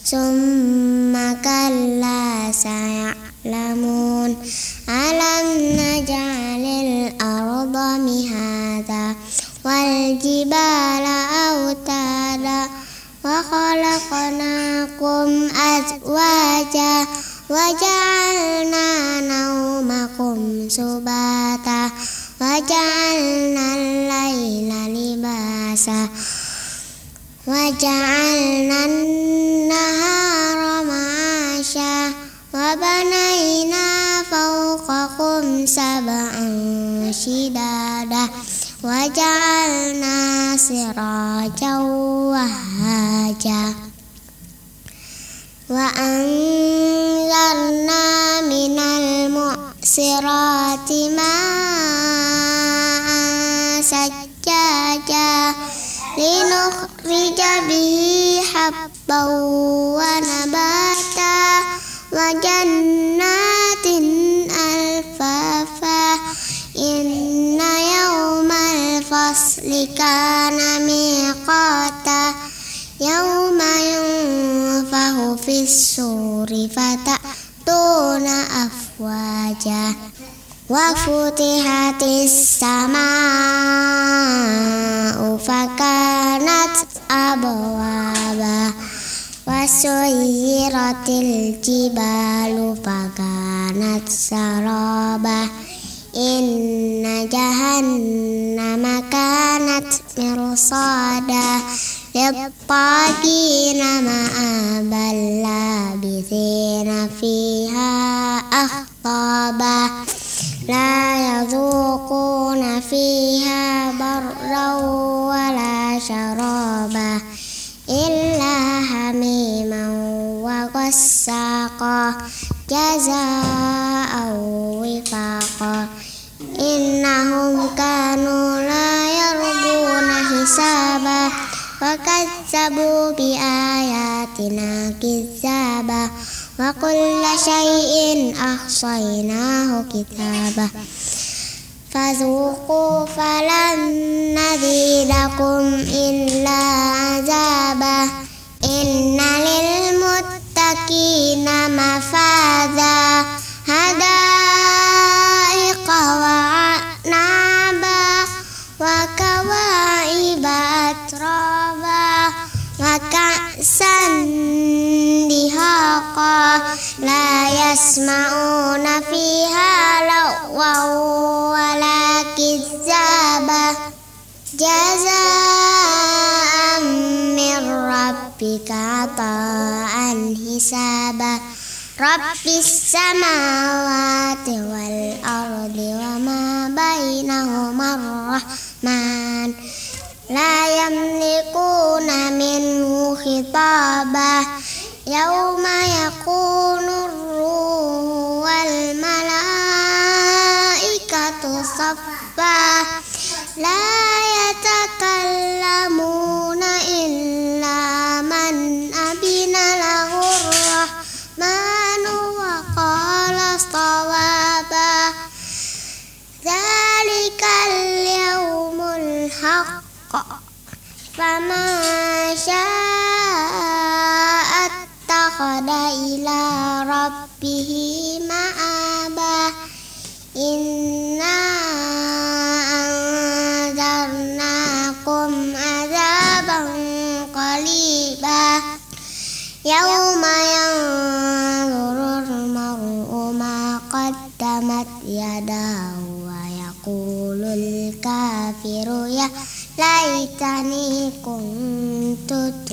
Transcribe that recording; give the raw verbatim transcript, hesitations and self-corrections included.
summa kalla saya'lamun alam naj'alil arda mihada wal jibala autada wa khalaqnakum azwaja wa ja'alna naumakum subata wa ja'alna al-laila libasa wa ja'alna an-nahara ma'asha wa banayna fawqakum sab'an shidada wa ja'alna sirajan wahaja wa anzalna minal mu'sirati ma'an sajjaja linukhrija bihi habban wa nabata wa jannatin alfafa inna yawmal fasli kana miqata yawma yunfahu fis-suri fata'tuna afwaja wa futihatis samaa'u fakanat abwaba wa suyyiratil jibalu fakanat saraba inna jahannama kanat mirsada lit-tagina ma'abal labithina fiha ahqaba la yadhuquna fiha barran wala sharaba illa hamiman wa ghassaqa jazaa'an wifaqa innahum kanu la yarjuna hisaba wa kazzabu bi ayatina kizzaba wa kulla shay'in ahsaynahu kitaba fadhuqu falan nazidakum illa azaba inna lil muttaqina mafaza hadaiqa wa a'naba wa kawa'iba atraba wa ka'san dihaqa la yasma'una fiha lagwan wala kizzaba jazaa'an min rabbika ata'an hisaba rabbis samawati wal ardi wa ma bainahuma ar-rahman la yamlikuna minhu khitaba yawma yakunu ar-ruhu wal malaikatu saffa la yatakallamuna illa man abina lahu ar-rahmanu wa qala sawaba dzalikal yawmul haqq faman syaa'a ittakhadha ila rabbihi ma'aba inna anzarnakum azaban qariba yawma yanzurul mar'u ma qaddamat yadahu wa yaqulul kafiru ya laitani kuntu